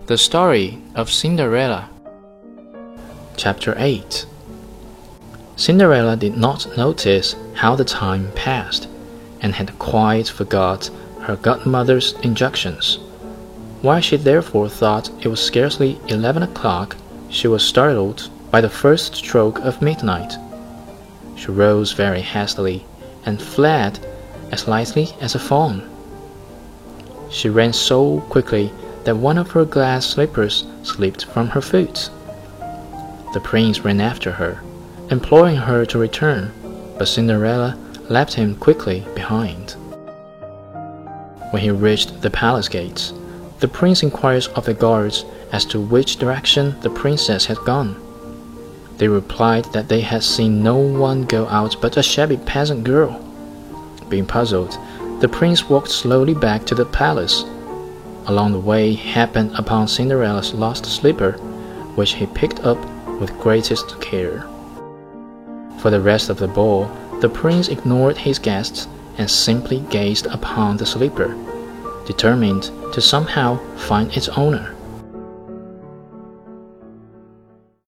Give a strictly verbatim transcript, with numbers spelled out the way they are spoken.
The Story of Cinderella. Chapter eight. Cinderella did not notice how the time passed, and had quite forgot her godmother's injunctions. While she therefore thought it was scarcely eleven o'clock, she was startled by the first stroke of midnight. She rose very hastily, and fled as lightly as a fawn. She ran so quickly that one of her glass slippers slipped from her foot. The prince ran after her, imploring her to return, but Cinderella left him quickly behind. When he reached the palace gates, the prince inquired of the guards as to which direction the princess had gone. They replied that they had seen no one go out but a shabby peasant girl. Being puzzled, the prince walked slowly back to the palace. Along the way he happened upon Cinderella's lost slipper, which he picked up with greatest care. For the rest of the ball, the prince ignored his guests and simply gazed upon the slipper, determined to somehow find its owner.